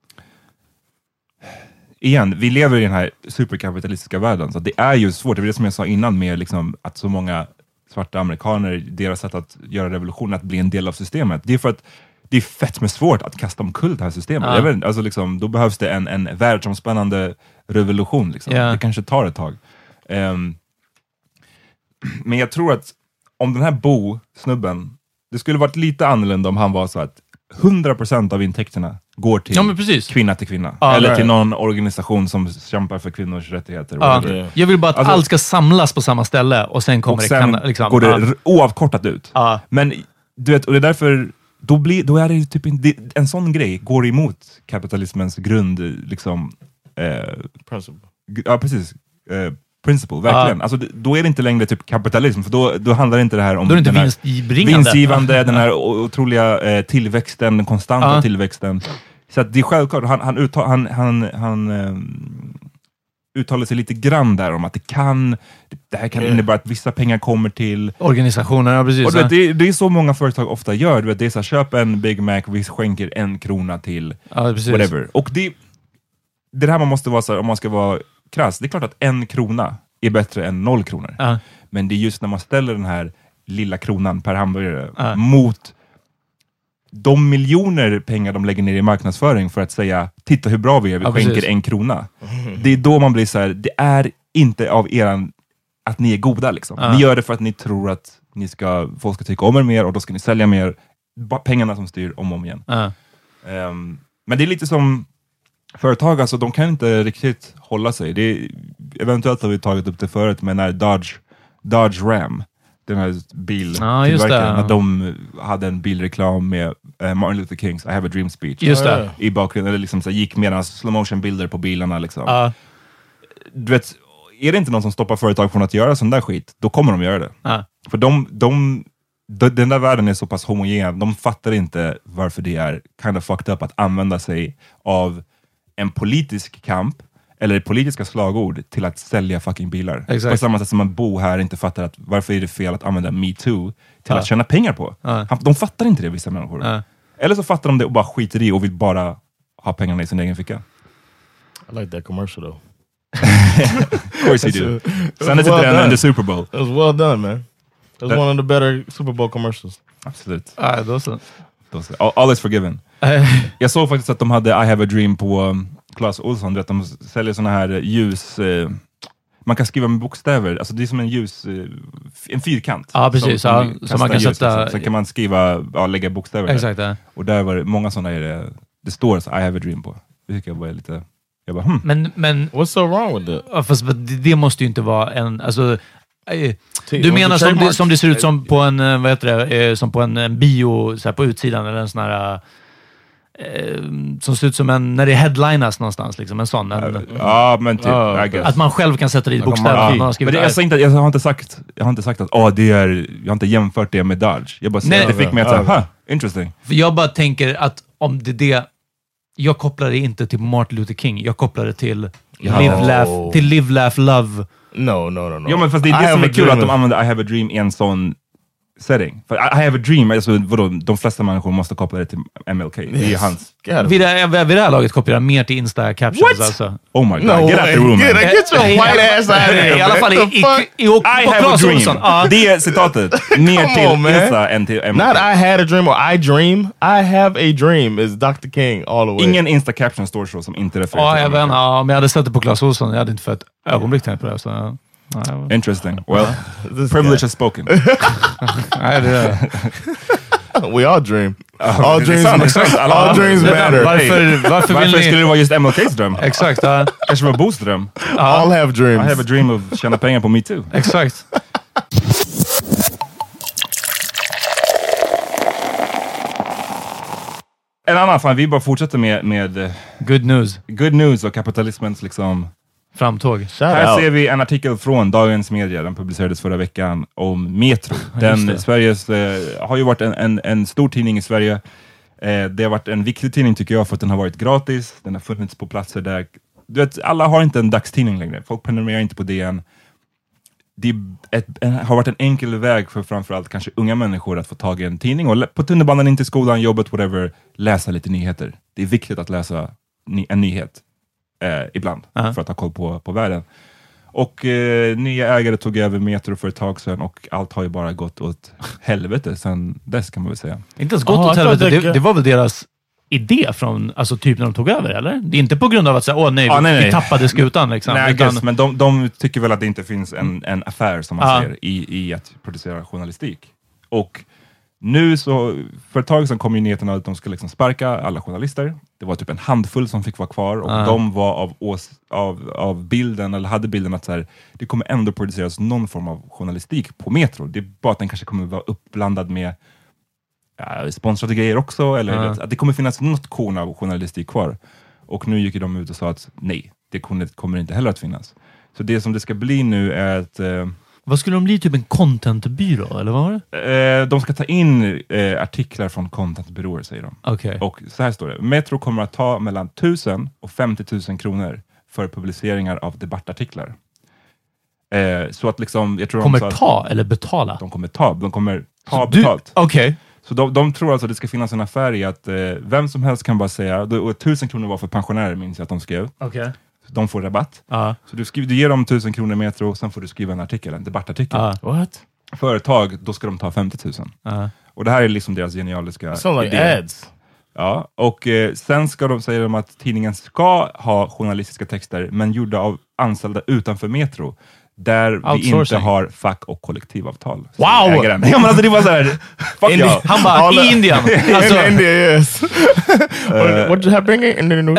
igen, vi lever i den här superkapitalistiska världen, så det är ju svårt. Det är det som jag sa innan med liksom, att så många svarta amerikaner, deras sätt att göra revolution, att bli en del av systemet. Det är för att det är fett med svårt att kasta omkull det här systemet. Ja. Jag vet, alltså, liksom, då behövs det en, en världsomspännande revolution. Liksom. Ja. Det kanske tar ett tag. Um, men jag tror att om den här Bo-snubben, det skulle varit lite annorlunda om han var så att hundra procent av intäkterna går till ja, kvinna till kvinna. Ah, eller nej. till någon organisation som kämpar för kvinnors rättigheter. Ah, jag vill bara att alltså, allt ska samlas på samma ställe och sen kommer och sen det kan, liksom, går det ah. oavkortat ut. Ah. Men du vet, och det är därför då, blir, då är det typ en, en sån grej går emot kapitalismens grund liksom eh, principle. Ja, precis. Eh, principle, verkligen. Ah. Alltså, då är det inte längre typ kapitalism, för då, då handlar det inte det här om då är det inte den vinstbringande. vinstgivande, den här otroliga eh, tillväxten, den konstanta ah. tillväxten. Så att det är självklart, han, han, uttal, han, han, han um, uttalar sig lite grann där om att det kan, det här kan innebära att vissa pengar kommer till organisationer, ja, precis. Och du vet, det, det är så många företag ofta gör, du vet, det är så här, köp en Big Mac, vi skänker en krona till ja, whatever. Och det, det här man måste vara så här, om man ska vara krass, det är klart att en krona är bättre än noll kronor. Ja. Men det är just när man ställer den här lilla kronan per hamburgare ja. mot de miljoner pengar de lägger ner i marknadsföring för att säga, titta hur bra vi är, vi ja, skänker precis. en krona. Mm. Det är då man blir så här, det är inte av eran att ni är goda liksom. Ja. Ni gör det för att ni tror att ni ska, folk ska tycka om er mer och då ska ni sälja mer. Bara pengarna som styr om och om igen. Ja. Um, men det är lite som företag, alltså de kan inte riktigt hålla sig. Det är, eventuellt har vi tagit upp det förut, men när Dodge, Dodge Ram, den här biltillverkaren, ja, när de hade en bilreklam med uh, Martin Luther Kings I have a dream speech just det. i bakgrunden, eller liksom så gick medan slow motion bilder på bilarna liksom. Uh. Du vet, är det inte någon som stoppar företag från att göra sån där skit, då kommer de göra det. Uh. För de, de, de, den där världen är så pass homogen, de fattar inte varför det är kind of fucked up att använda sig av en politisk kamp eller politiska slagord till att sälja fucking bilar. Exakt. På samma sätt som man bor här inte fattar att varför är det fel att använda MeToo till ja. att tjäna pengar på. Ja. De fattar inte det, vissa människor. Ja. Eller så fattar de det och bara skiter i och vill bara ha pengarna i sin egen ficka. I like that commercial though. Of course you do. Send it to them in the Super Bowl. It was well done, man. It was that, one of the better Super Bowl commercials. Absolut. Ah, those those, all, all is forgiven. Jag såg faktiskt att de hade I have a dream på um, Clas Ohlson, att de säljer såna här ljus, eh, man kan skriva med bokstäver, alltså det är som en ljus, eh, en fyrkant. Ja, precis. Som, ja, som man kan ljus, sätta... Liksom. Sen kan man skriva, ja, lägga bokstäver exakt, där. Ja. Och där var det många sådana, det, det står så I have a dream på. Det tycker jag var lite, jag bara, hmm. Men, men... What's so wrong with it? Ja, fast det, det måste ju inte vara en, alltså... Du menar som det, som det ser ut som på en, vad heter det, som på en, en bio så här på utsidan, eller en sån här... eh, som ser ut som en, när det är headlinas någonstans, liksom, en sån. En, ja, men typ, uh, I guess. Att man själv kan sätta dit bokstäver. Ja, man men det, jag, inte, jag har inte sagt, jag har inte sagt att åh, det är, jag har inte jämfört det med Dodge. Jag bara säger att det fick mig att säga, huh, interesting. För jag bara tänker att om det det, jag kopplar det inte till Martin Luther King, jag kopplar det till Ja. live, laugh, till live, laugh, love. No, no, no, no. Ja, men fast det är det som är kul att de använder I have a dream i en sån setting. För I, I have a dream, alltså, vadå, de flesta människor måste koppla det till M L K. Yes. Det är hans. Vid det, vid det här laget kopplar jag mer till Insta-captions. Alltså. Oh my god, No get out the room. Get, get your white ass out of here. I alla fall i, i, i, i, I have a dream. Uh. Det är citatet. Ner till on, Insta än till M L K. Not I had a dream or I dream. I have a dream is doctor King all the way. Ingen Insta-caption står så som inte refererar ja, till jag vet, ja, om jag hade sett det på Claes Olsson, jag hade inte för ett ögonblick tänkt på det. Så, ja. Nej, interesting. Well, privilege has spoken. Nej, det We all dream. Uh, all dreams, sant, all, all dreams matter. Varför, varför, varför ni... skulle det vara just M L K's dröm? Exakt. Ja. Kanske var Boos dröm. All have dreams. I have a dream of tjäna pengar på Me Too. Exakt. En annan, fan, vi bara fortsätter med, med good news. Good news och kapitalismens liksom framtåg. Här ser vi en artikel från Dagens Media, den publicerades förra veckan, om Metro. Den Sveriges, eh, har ju varit en, en, en stor tidning i Sverige. Eh, det har varit en viktig tidning tycker jag för att den har varit gratis. Den har funnits på platser där, du vet, alla har inte en dagstidning längre. Folk prenumererar inte på D N. Det är ett, en, har varit en enkel väg för framförallt kanske unga människor att få tag i en tidning och på tunnelbanan, in till skolan, jobbet, whatever, läsa lite nyheter. Det är viktigt att läsa ny, en nyhet. Eh, ibland, uh-huh. för att ha koll på, på världen. Och eh, nya ägare tog över Metro för ett tag sedan och allt har ju bara gått åt helvete sedan dess kan man väl säga. Inte ens gått ah, åt helvete, det, det var väl deras idé från, alltså typ när de tog över, eller? Det är inte på grund av att säga, åh nej, ah, vi, nej, nej. vi tappade skutan liksom. Nej, utan... guess, men de, de tycker väl att det inte finns en, en affär som man ah. säger i, i att producera journalistik. Och nu så, för ett tag sedan kom ju nyheterna att de skulle liksom sparka alla journalister. Det var typ en handfull som fick vara kvar och uh. de var av, ås, av, av bilden, eller hade bilden att så här, det kommer ändå produceras någon form av journalistik på Metro. Det är bara att den kanske kommer vara uppblandad med ja, sponsrade grejer också, eller uh. att det kommer finnas något korn av journalistik kvar. Och nu gick de ut och sa att nej, det kommer, kommer inte heller att finnas. Så det som det ska bli nu är att eh, vad skulle de bli? Typ en contentbyrå, eller vad var det? Eh, de ska ta in eh, artiklar från contentbyråer, säger de. Okay. Och så här står det. Metro kommer att ta mellan tusen och femtio tusen kronor för publiceringar av debattartiklar. Eh, så att liksom... Jag tror kommer de ta eller betala? De kommer ta. De kommer ta du, betalt. Okej. Okay. Så de, de tror alltså att det ska finnas en affär i att eh, vem som helst kan bara säga... Och tusen kronor var för pensionärer, minns jag att de skrev. Okej. Okay. De får rabatt. Uh. Så du, skriver, du ger dem tusen kronor Metro och sen får du skriva en artikel, en debattartikel. Uh. What? Företag, då ska de ta femtio tusen. Uh. Och det här är liksom deras genialiska so idé. Like ads. Ja, och eh, sen ska de säga de att tidningen ska ha journalistiska texter men gjorda av anställda utanför Metro. Där vi inte har fack- och kollektivavtal. Wow! Ja, men alltså det var såhär, fuck Indi- ja. Han bara, i Indien. Alltså, in India, yes. what, what just happened in the news?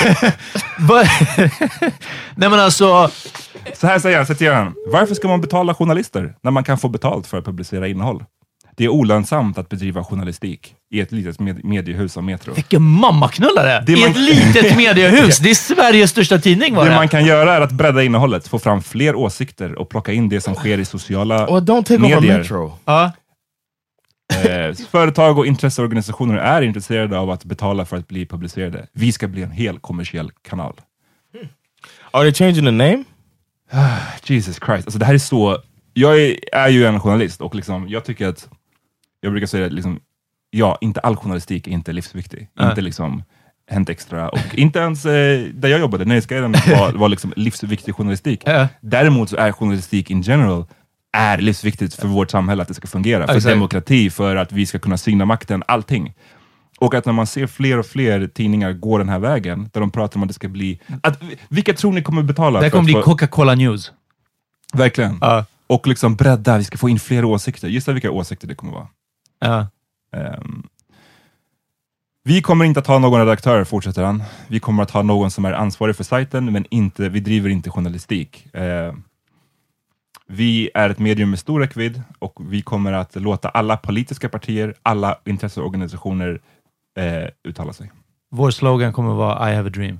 Nej men alltså... Så här säger han, citerar han. Varför ska man betala journalister när man kan få betalt för att publicera innehåll? Det är olönsamt att bedriva journalistik i ett litet med- mediehus av Metro. Vilken mammaknullare! Det I man... ett litet mediehus! Det är Sveriges största tidning, var det? Det man kan göra är att bredda innehållet, få fram fler åsikter och plocka in det som sker i sociala well, don't take medier. Over Metro. Uh. Eh, företag och intresseorganisationer är intresserade av att betala för att bli publicerade. Vi ska bli en hel kommersiell kanal. Hmm. Are they changing the name? Jesus Christ. Alltså det här är så... Jag är, är ju en journalist och liksom, jag tycker att jag brukar säga liksom, ja, inte all journalistik är inte livsviktig. Äh. Inte liksom Hänt Extra och inte ens eh, där jag jobbade, Nöjesguiden var, var liksom livsviktig journalistik. Äh. Däremot så är journalistik in general är livsviktigt för vårt samhälle att det ska fungera. För exakt. Demokrati, för att vi ska kunna syna makten, allting. Och att när man ser fler och fler tidningar gå den här vägen, där de pratar om att det ska bli... Att, vilka tror ni kommer betala? Det kommer bli få... Coca-Cola News. Verkligen. Uh. Och liksom bredda, vi ska få in fler åsikter. Gissa vilka åsikter det kommer vara. Uh. Um, vi kommer inte att ha någon redaktör, fortsätter han. Vi kommer att ha någon som är ansvarig för sajten, men inte, vi driver inte journalistik. Uh, vi är ett medium med stor räckvidd och vi kommer att låta alla politiska partier, alla intresseorganisationer uh, uttala sig. Vår slogan kommer vara I have a dream.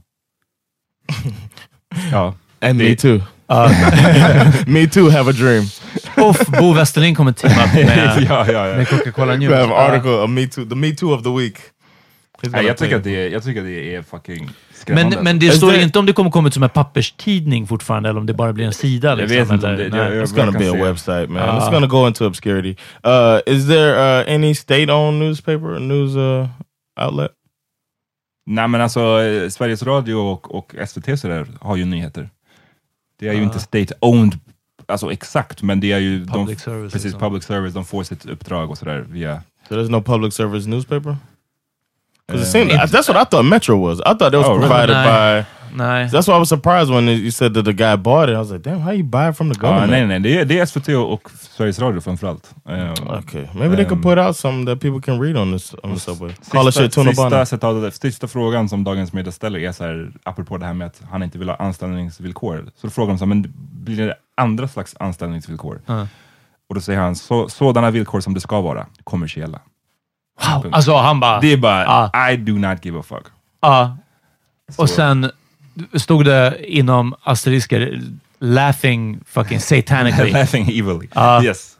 Ja. And me too. Uh. Me too have a dream. Off, Bo Westerlind kommer teama med, ja, ja, ja. med Coca-Cola News. We have an article of me too, the me too of the week. Nej, jag, tycker att det är, jag tycker att det är fucking skrämmande. Men, men det står det... inte om det kommer komma ut som en papperstidning fortfarande eller om det bara blir en sida. Liksom, jag vet inte eller, om det. Jag, jag It's gonna be a se. website, man. Uh. It's gonna go into obscurity. Uh, is there uh, any state-owned newspaper, news uh, outlet? Nej, men alltså Sveriges Radio och, och S V T så där har ju nyheter. Det är ju uh. inte state-owned alltså exakt, men det är ju public de, service. Precis, public service. De får sitt uppdrag och sådär via... So there's no public service newspaper? Because it seemed, that's what I thought Metro was. I thought it was oh, provided really? by... Nej. That's why I was surprised when you said that the guy bought it. I was like, damn, how you buy it from the government? Ah, nej, nej, det är, det är S V T och Sveriges Radio framförallt. Um, okay, maybe um, they could put out some that people can read on this on the subway. Call it shit, sista, sista, sista frågan som Dagens Media ställer är så här, apropå det här med att han inte vill ha anställningsvillkor. Så då frågar de så här, men blir det andra slags anställningsvillkor? Uh. Och då säger han, så, sådana villkor som det ska vara, kommersiella. Wow. Alltså han bara... Det är bara, uh. I do not give a fuck. Ja. Uh. Och sen stod det inom asterisker laughing fucking satanically. Laughing evilly. Uh, yes.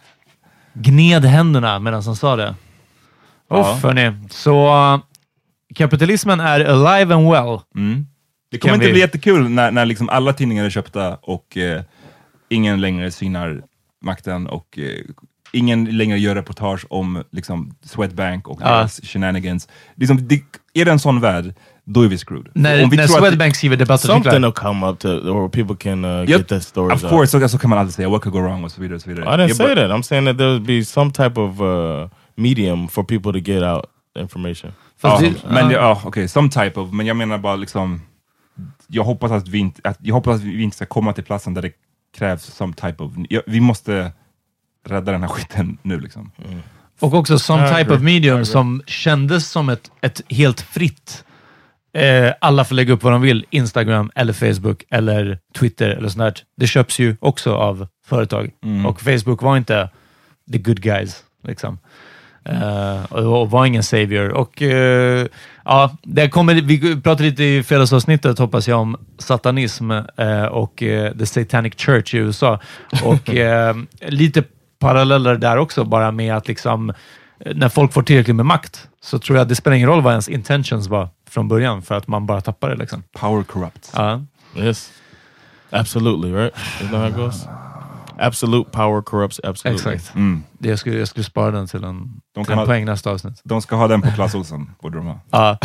Gned händerna medan han sa det. Uff, uh. hörni. Så uh, kapitalismen är alive and well. Mm. Det kommer inte vi... bli jättekul när, när liksom alla tidningar är köpta och uh, ingen längre synar makten och uh, ingen längre gör reportage om liksom Swedbank och uh. deras shenanigans. Liksom, det, är det en sån värld, då är vi screwed. När, om vi när Swedbank skriver debattartiklar. Something will come up to, or people can uh, yep. get that stories Of course, så, så kan man alltid säga what could go wrong och så vidare. Och så vidare. I didn't yeah, say but, that. I'm saying that there would be some type of uh, medium for people to get out information. Ja, det, men uh. ja, okej, okay, some type of, men jag menar bara liksom, jag hoppas att vi inte, att, jag hoppas att vi inte ska komma till platsen där det krävs some type of, ja, vi måste rädda den här skiten nu liksom. Mm. Och också some type of medium som kändes som ett, ett helt fritt. Eh, alla får lägga upp vad de vill. Instagram eller Facebook eller Twitter eller sånt där. Det köps ju också av företag. Mm. Och Facebook var inte the good guys. Liksom. Eh, och, och var ingen savior. Och eh, ja, det kommer, vi pratade lite i fredagsavsnittet hoppas jag om satanism eh, och eh, the Satanic Church i U S A. Och eh, lite paralleller där också, bara med att liksom när folk får tillräckligt med makt så tror jag att det spelar ingen roll vad ens intentions var från början för att man bara tappar det liksom. Power corrupts. Ja. Yes. Absolutely, right? Isn't that how it goes? Absolute power corrupts absolutely. Exakt. Mm. Det jag, skulle, jag skulle spara den till en, de till en ha, poäng nästa avsnitt. De ska ha den på Clas Ohlson, borde de ha. Ja.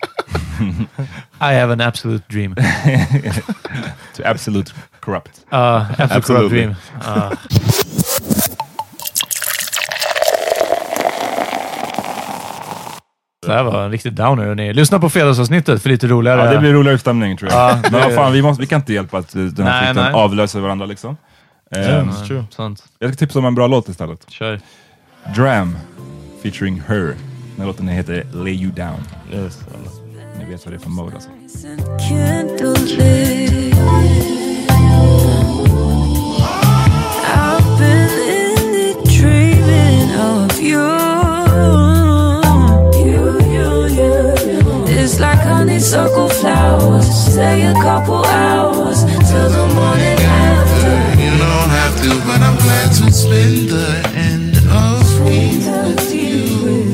I have an absolute dream. To absolute corrupt. Uh, absolute corrupt dream. Uh. Det här var en riktig downer. Ni lyssna på fredagsavsnittet för lite roligare. Ja, det blir roligare stämning tror jag. Uh, men vad fan, vi, måste, vi kan inte hjälpa att den här nej, skiten nej. avlöser varandra liksom. Yeah, um, true. Sant. Jag ska tipsa om en bra låt istället. Kör. Dram featuring Her. Den låten heter Lay You Down. Yes. Ni vet vad det är för mode alltså. I've been in it dreaming of you. You, you, you, you. It's like honeysuckle flowers. Stay a couple hours till the morning after. You don't have to, but I'm glad to spend the end of me with you.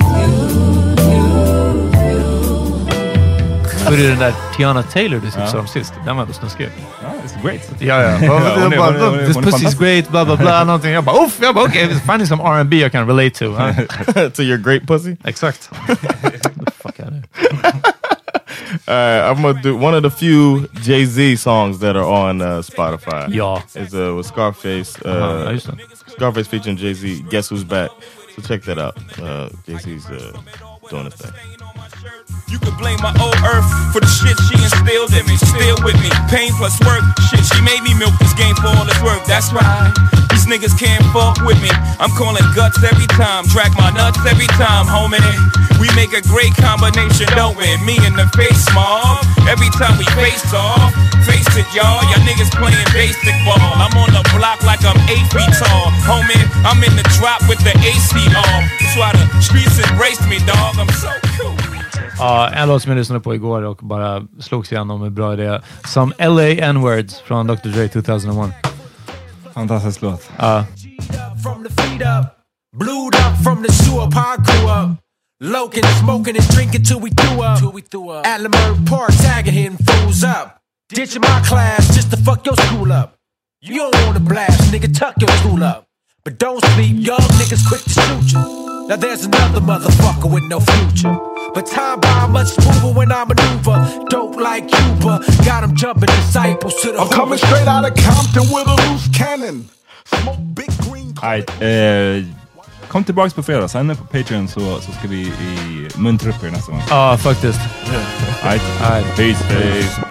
Hur är den där Tiana Taylor du tipsade om sist? Den var ändå snuskig. Ja, it's great. Ja, ja. This pussy's great, blah, blah, blah. Någonting. Jag bara, uff, jag bara, okej, okay, finding some R and B I can relate to. Huh? To your great pussy? Exakt. Fuck out of here. Alright, I'm gonna do one of the few Jay-Z songs that are on uh, Spotify. Ja. It's uh, with Scarface. Uh, uh-huh, Scarface featuring Jay-Z. Guess Who's Back? So check that out. Uh, Jay-Z's uh, doing his thing. You could blame my old earth for the shit she instilled in me. Still with me, pain plus work. Shit, she made me milk this game for all its worth. That's right, these niggas can't fuck with me. I'm calling guts every time, drag my nuts every time, homie. We make a great combination, don't we? Me in the face, mob. Every time we face off, face it, y'all. Y'all niggas playing basic ball. I'm on the block like I'm eight feet tall, homie. I'm in the drop with the A C off. That's why the streets embraced me, dog. I'm so cool. Ja, en låt som jag lyssnade på igår och bara slogs igenom med bra idé. Som L A N-words från doktor Dre two thousand one. Fantastisk låt. Ja. From the feet up, blued up from the sewer, pond grew up. Loking, smoking and drinking till we threw up. Till we threw up. At Lamert Park, tagging him fools up. Ditching my class just to fuck your school up. You don't want to blast, nigga, tuck your school up. But don't sleep, young niggas quick to shoot you. Now there's another motherfucker with no future. But time by much smoother when I maneuver. Dope like Cuba, got him jumping disciples to the I'm coming straight out of Compton with a loose cannon. Smoke big green. Right, eh, kom tillbaks på fredag, sen på Patreon så, så ska vi i muntra upp er nästa gång. Ja, faktiskt. Right. Right. Peace, peace.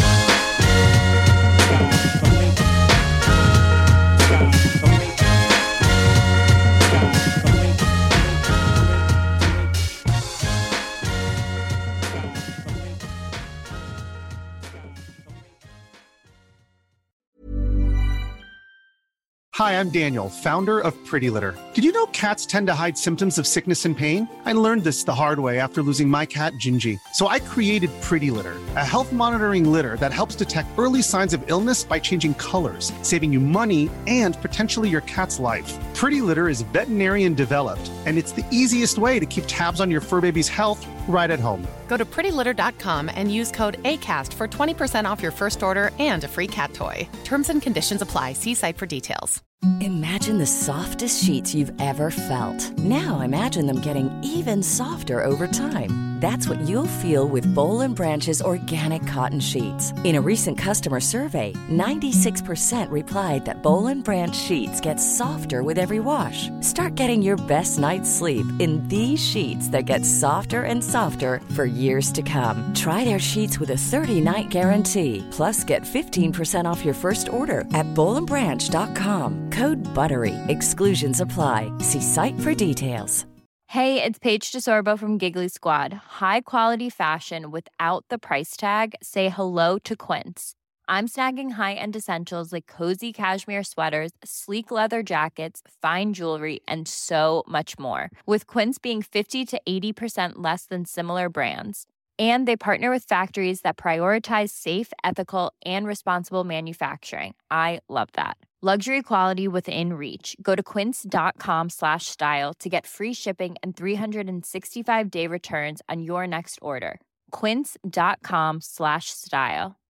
Hi, I'm Daniel, founder of Pretty Litter. Did you know cats tend to hide symptoms of sickness and pain? I learned this the hard way after losing my cat, Gingy. So I created Pretty Litter, a health monitoring litter that helps detect early signs of illness by changing colors, saving you money and potentially your cat's life. Pretty Litter is veterinarian developed, and it's the easiest way to keep tabs on your fur baby's health right at home. Go to pretty litter dot com and use code ACAST for twenty percent off your first order and a free cat toy. Terms and conditions apply. See site for details. Imagine the softest sheets you've ever felt. Now imagine them getting even softer over time. That's what you'll feel with Boll and Branch's organic cotton sheets. In a recent customer survey, ninety-six percent replied that Boll and Branch sheets get softer with every wash. Start getting your best night's sleep in these sheets that get softer and softer for years to come. Try their sheets with a thirty-night guarantee. Plus, get fifteen percent off your first order at boll and branch dot com. Code BUTTERY. Exclusions apply. See site for details. Hey, it's Paige DeSorbo from Giggly Squad. High quality fashion without the price tag. Say hello to Quince. I'm snagging high-end essentials like cozy cashmere sweaters, sleek leather jackets, fine jewelry, and so much more. With Quince being fifty to eighty percent less than similar brands. And they partner with factories that prioritize safe, ethical, and responsible manufacturing. I love that. Luxury quality within reach. Go to quince.com slash style to get free shipping and three sixty-five day returns on your next order. Quince.com slash style.